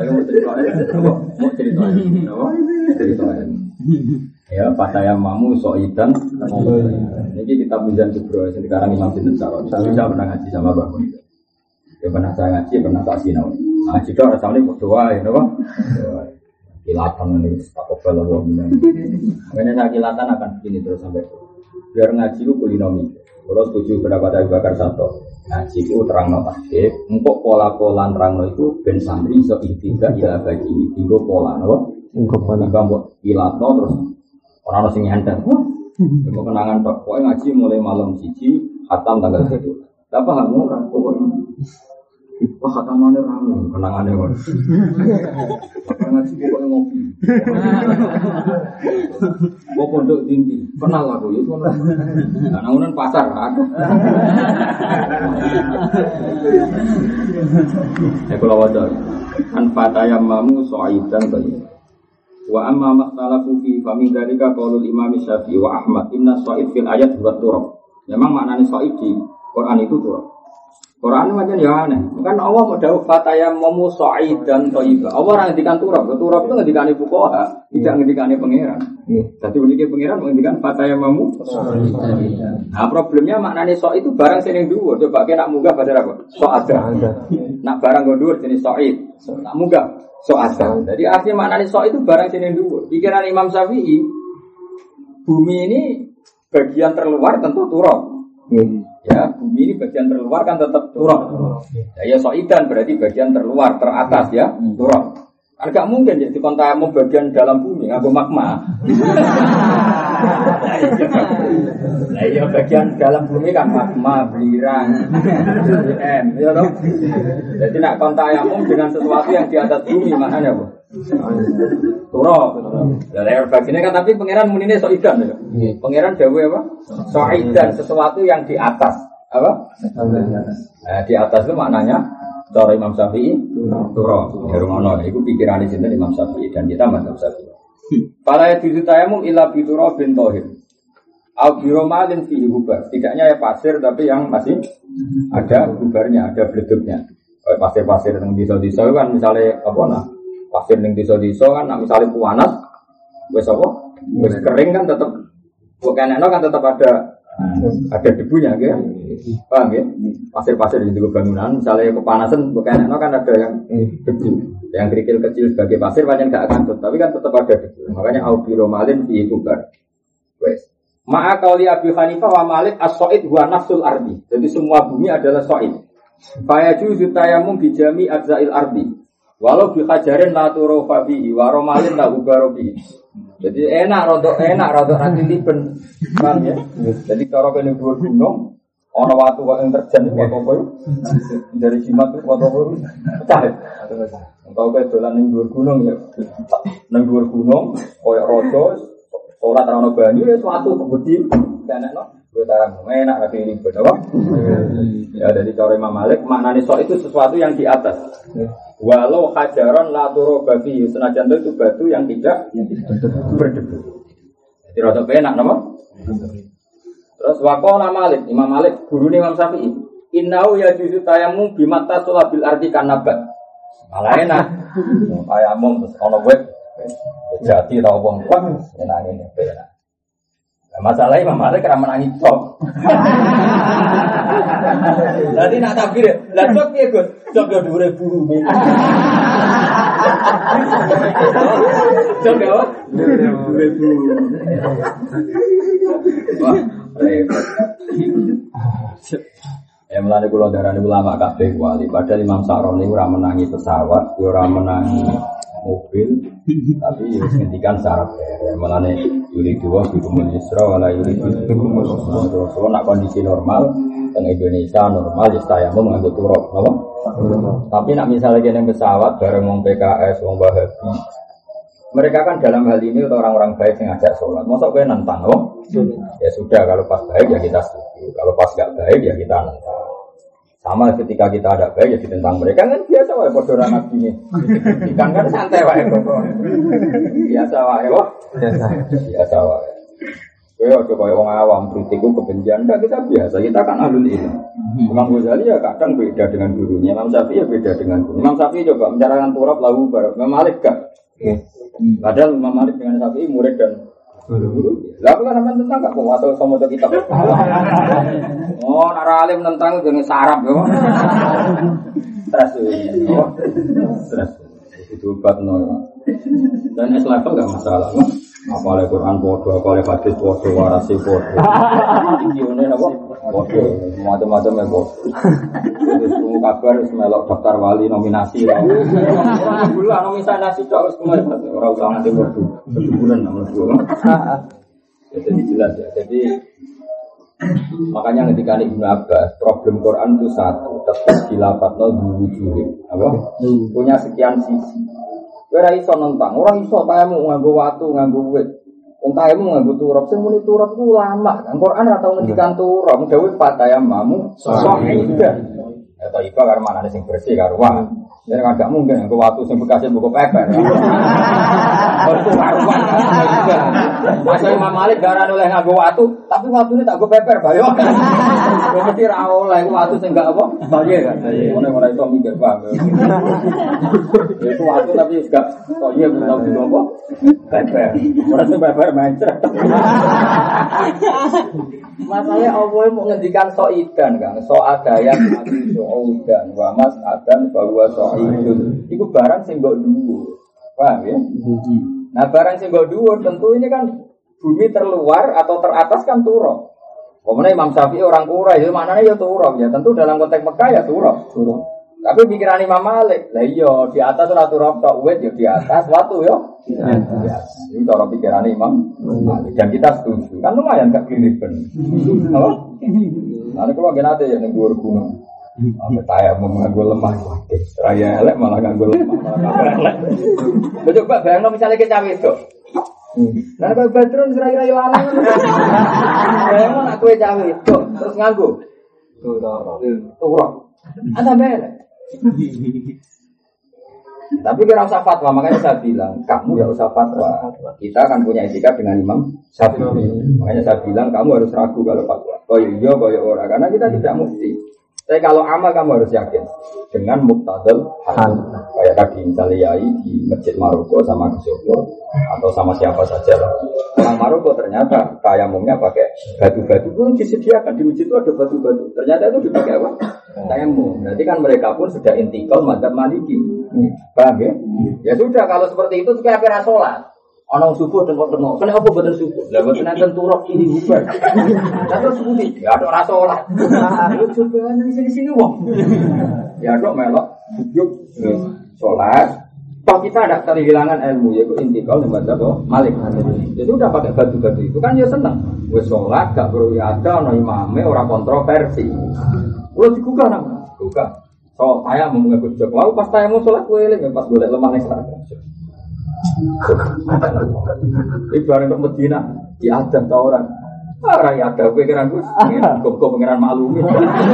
Ya, Pak saya mamu soidan. Ini kita pinjam Jubro, sekarang Imam Sinten Saron. Saya pernah ngaji sama Mbak Mun. Ya pernah saya ngaji, pernah tak sinau. Ngaji itu rasanya berdoa, ya Pak. Kilatan ini, tak kobel Allah. Makanya saya kilatan akan begini terus sampai. Biar ngaji itu kulinomi. Kalau setuju berapa Abu Bakar Sato ngaji itu terang notaktif untuk pola-pola terang itu ben santri iso ikhtiar ila bagi tinggo pola napa mbok ilatno terus ora ono sing nyantet kok kenangan tok pokoke ngaji mulai malam siji khatam tanggal 1 lah paham ora pokoke wah khatamane rame kenangane kok ngaji pokoke ngopi kok pondok tinggi kenal aku ya ngono nangunan pasar aku kalau wajar an fatayamamu so'idan tadi wa amma makhtalafu fi famin dzalika qaulul imam Syafi'i wa Ahmad inna so'id fil ayat buat turab memang maknanya so'id di Quran itu turab Quran macam ya aneh. Kan Allah mau dawuh fatayammamu sa'idan thayyiban. Allah ora ngendikan turab. Turab itu ngendikane fuqaha, tidak ngendikane pangeran. Dadi unike pangeran ngendikan fatayammamu sa'idan. Nah, problemnya maknane sa' itu barang sing ning dhuwur. Coba kena munggah bahasa apa? Sa'ada. Nak barang go dhuwur jenis sa'id. Nak munggah sa'ada. Jadi artinya maknane sa' itu barang sing ning dhuwur. Pikiran Imam Syafi'i bumi ini bagian terluar tentu turab. Ya, bumi ini bagian terluar kan tetap turab. Ya soidan berarti bagian terluar, teratas ya, turab. Kan gak mungkin jadi kontamu bagian dalam bumi, ngaku magma. Nah, iya bagian dalam bumi kan magma, belirang, ya toh. Jadi nak kontamu dengan sesuatu yang di atas bumi, maknanya apa? Turab. Dari bagiannya kan tapi pangeran munine soidan ya. Pangeran dawuh apa? Soidan sesuatu yang di atas. Apa? Nah, di atas itu maknanya cara Imam Syafi'i turab. Ya rumono iku pikirane sinten Imam Syafi'i dan kita mazhab Syafi'i. Fala yajuzu tayammum illa bi turabin thahir. Au bi romalin fihi hubar. Tidaknya ya pasir tapi yang masih ada hubarnya, ada bleduknya. Pasir-pasir yang desa-desa kan misalnya apa nah? Pasir ning desa-desa kan misalnya panas wis apa? Wis kering kan tetap bukan kan tetap ada debunya gitu. Paham ya? Pasir-pasir di bangunan misalnya kepanasan bukan kan ada yang debu. Yang kerikil kecil sebagai pasir banyak enggak akan tapi kan tetap ada debu. Makanya aubiromalin fi kubar. Wes. Ma'a qauli Abi Hanifah wa Malik as-sa'id huwa nafsul ardi. Jadi semua bumi adalah sa'id. Fa yajuzu tayammum bi jami' ajza'il ardi. Walau bi hajarin la turufa bihi wa romalin la ubaro bihi. Jadi enak rodok nanti liben. Paham ya? Jadi cara kene dhuwur gunung ana watu kok yang terjan kok apa yo? Dari jimat kok apa yo? Pecah. Engkau ke dolan ning dhuwur gunung ya. Ning dhuwur gunung koyo raja ora terano banyu ya suatu kebudi enakno. Gue tarang enak lagi ini berapa? Ya dari cara Imam Malik maknanya sok itu sesuatu yang di atas. Walau hajaron la turobabi senajan itu batu yang tidak berdebu. Jadi rada enak nama. Terus waqala Malik, Imam Malik gurune Imam Syafi'i. Innahu yajuzu tayammum bimatta sulabil ardi kanabat. Malah enak. Tayammum terus ana wet. Jati ta wong kuat enak ngene enak. Masalahnya Imam Malik kira menangi cok. Jadi nak takbir, lah cok piye Gus? Cok yo dhuwure buru. Cok yo dhuwure buru. Wah, repot. Ya mulane kula darani ulama kabeh wali, padahal Imam Sa'roni ora menangi pesawat, ora menangi mobil, tapi ya ngendikan syarat ya malane yuri dua bikumul yusra wala yuri bikumul usra. So nak kondisi normal teng Indonesia normal ya saya mau nganggo turap napa? Tapi nak misalnya kene pesawat bareng wong PKS wong Wahabi. Mereka kan dalam hal ini orang-orang baik yang ngajak sholat. Masa kowe nantang loh? Ya sudah kalau pas baik ya kita setuju. Kalau pas enggak baik ya kita nantang. Sama ketika kita ada baik ya ditentang mereka kan biasa wae padha ora nabi ini. Ikan kan santai wae kok. Biasa wae kok. Biasa wae. Kowe aja koyo wong awam kritik kebencian enggak kita biasa. Kita kan ahlul ilm. Imam Ghazali ya kadang beda dengan gurunya. Imam Syafi'i ya beda dengan guru. Imam Syafi'i coba mencarahkan turab lahu barak. Imam Malik enggak. Padahal Imam Malik dengan Syafi'i murid dan guru. Lah kok sampean tentang enggak kok atau sama kitab. Oh, nara alim tentang jenenge sarap yo. Stres. Stres. Itu batno. Dan Islam enggak masalah. Apalagi Quran bodoh, apalagi hadis bodoh, warasi bodoh. Ini apa? Bodoh, macam-macam ya bodoh. Terus kabar melok daftar wali nominasi. Orang bulan nominasi itu harus kembali. Orang usah nanti bodoh, bulan nomor 2. Jadi jelas ya. Jadi makanya ketika Ibnu Abbas problem Quran itu satu, tetap dilapatno diwujudin. Apa? Punya sekian sisi. Ora iso nentang, ora iso tayamu nganggo watu, nganggo wit. Wong tayamu nganggo turap, sing muni turap ku ulama. Kan Quran ora tau ngendikan turap, dawuh patayamu sahida. Ya ta iba karo manane sing bersih karo wae. Nek gak mungkin nganggo watu sing bekase buku peper. Itu karuan. Masa Imam Malik darane oleh nganggo watu, tapi watune tak nggo peper bae. Kok mesti ra oleh watu sing gak apa? Bae kan. Ora iso mikir wae. Itu watu tapi gak koyo belum apa? Peper. Ora sing peper mencret. Masalahnya Allah mau ngendikan so'idan kan, so'adaya mati so'udan, wa mas'adan bahwa so'idun. Itu barang sing mbok dhuwur. Paham ya? Nah barang sing mbok dhuwur tentu ini kan bumi terluar atau teratas kan turab. Kemudian Imam Syafi'i orang Quraisy itu maknanya ya turab ya. Tentu dalam konteks Mekah ya turab. Tapi pikiran Imam Malik, lah iya di atas ora turab tok wit ya di atas, watu ya. Itu cara pikiran Imam Malik dan kita setuju. Kan lumayan gak keliben. Apa? Nanti kalau nate ya ning dhuwur gunung. Sampai saya mengganggu lemah, raya elek malah ganggu lemah, malah elek. Coba bayangno misalnya kita wedok. Lah kok Badrun serai-rai lanang. Bayangno nak kowe cawe wedok terus nganggo. Turap. Ada belek. Tapi kira usah fatwa, makanya saya bilang kamu ya usah fatwa. Kita akan punya etika dengan Imam Syafi'i. Makanya saya bilang kamu harus ragu kalau fatwa. Oh iya, oh orang, karena kita tidak mesti. Tapi kalau amal kamu harus yakin dengan muktadal hal. Kayak tadi misalnya Yai di Masjid Maroko sama Gisopur atau sama siapa saja. Orang Maroko ternyata tayamumnya pakai batu-batu itu disediakan di masjid itu ada batu-batu. Ternyata itu dipakai apa? Tayamum. Berarti kan mereka pun sudah intikal madzhab Maliki. Paham ya? Ya sudah kalau seperti itu kayak apa sholat? Orang subuh tengok-tengok. Kenapa betul subuh? Lah betul nanti turok ini bubar. Terus subuh ya ada rasa sholat. Lu coba di sini wong. Ya dok melok duduk sholat. Toh kita ada kehilangan ilmu yaitu intikal madzhab Malik. Jadi udah pakai batu-batu itu kan ya seneng. Wes sholat gak perlu ada ono imame ora kontroversi. Kulo digugah nang. Gugah. So saya mau ngikut jog. Lalu pas saya mau sholat gue eling pas golek lemah ning sana. Ibarat untuk Medina diadab ke orang ya ada pikiran gue kok pengiran maklumi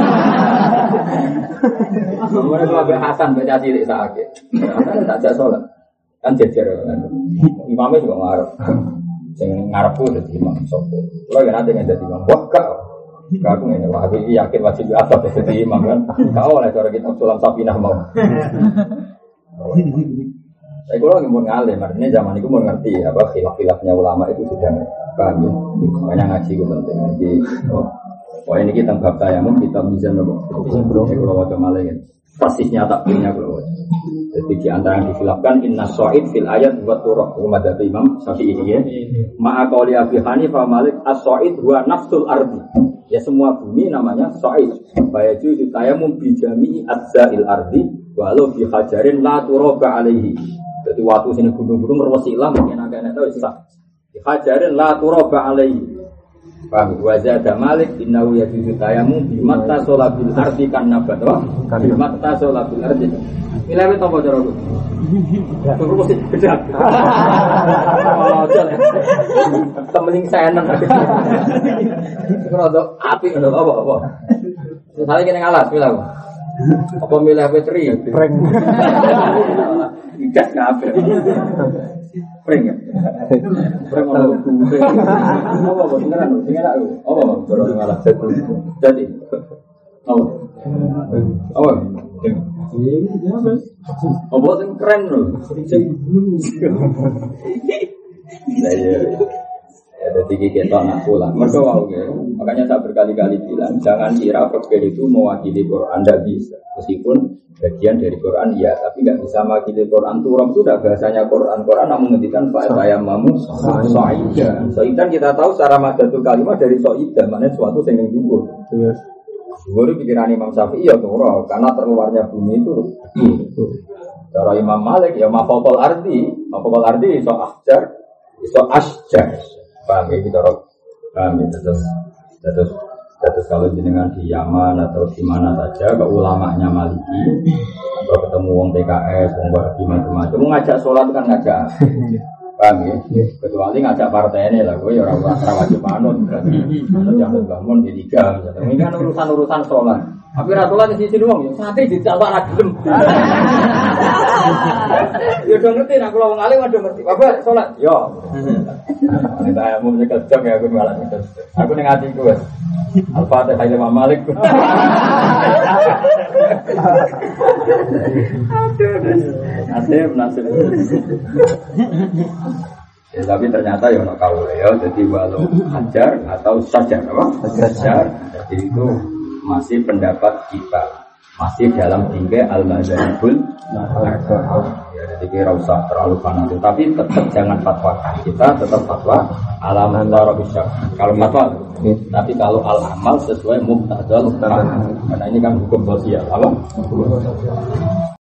kemudian kalau Hasan baca cilik sakit Hasan tak jak sholat kan jejer imamnya juga ngarep yang ngarep pun jadi imam sopo lo yang nanti yang jadi imam wah kak aku ini wah aku yakin wajib asal jadi imam kan kau oleh cara kita sulam sapinah mau saya kalau lagi mau ngalim, artinya zaman itu mau ngerti apa khilaf-khilafnya ulama itu sudah paham ya. Makanya ngaji itu penting. Jadi, ini kita bab tayamum kita bisa nopo. Kalau wajah malah persisnya takbirnya kalau wajah. Jadi di antara yang dikhilafkan inna so'id fil ayat buat turok umat dari Imam Syafi'i ini ya. Ma'akoli Abi Hanifah Malik as-so'id huwa nafsul ardi. Ya semua bumi namanya so'id. Bayaju itu tayamum bijami'i adza'il ardi walau bihajarin la turoba alaihi. Jadi waktu sini gunung-gunung merwasilah mungkin agak tahu sah. Hajarin la turoba alaihi. Paham? Wajada Malik innahu yajuzu tayamum bimatta sholabil ardi kan nabat wa bimatta sholabil ardi. Milih apa cara aku? Aku mesti beda. Oh, aja lah. Temening seneng. Krodo apik ngono apa? Misalnya kene ngalas milih apa? Apa milih petri? Prank. Ikat kabeh. Prank ya. Prank ono duwe. Apa beneran sing enak yo. Apa baru ngalah jadi. Oh. Oh. Apa sing keren lho. Ya, jadi kita nak pulang. Mereka mau ya. Makanya saya berkali-kali bilang, jangan kira fakir itu mewakili Quran, tidak bisa. Meskipun bagian dari Quran ya, tapi nggak bisa mewakili Quran. Turun itu sudah bahasanya Quran. Quran namun menghentikan saya mamu so'idah. So'idah kita tahu secara madatul kalimat dari so'idah, maknanya sesuatu yang dulu. Dulu pikiran Imam Syafi'i ya turun, karena terluarnya bumi itu. Cara Imam Malik ya mafokol ardi so ahjar, so asjar. Paham ya kita paham ya terus kalau jenengan di Yaman atau di mana saja ke ulamanya Maliki atau ketemu wong PKS wong Wahabi macam-macam ngajak sholat kan ngajak paham ya kecuali ngajak partai ini lah gue ya orang wajib manut berarti atau jangan bangun di liga misalnya ini kan urusan sholat tapi rasulah di sini doang ya santri dijawab ragilem ya udah ngerti nak kalau wong alim udah ngerti apa sholat yo kita mau menyekel jam ya aku malah nyekel aku ning atiku wes Al-Fatihah Imam Malik aduh nasib ya, tapi ternyata ya ono kaule ya jadi walau hajar atau sajar apa sajar jadi itu masih pendapat kita masih dalam tingkai al-mazhabul ya jadi kira usah terlalu fanatik tapi tetap jangan fatwakan kita tetap fatwa alaman tarabisyak kalau fatwa tapi kalau al-amal sesuai muqtadal karena ini kan hukum sosial apa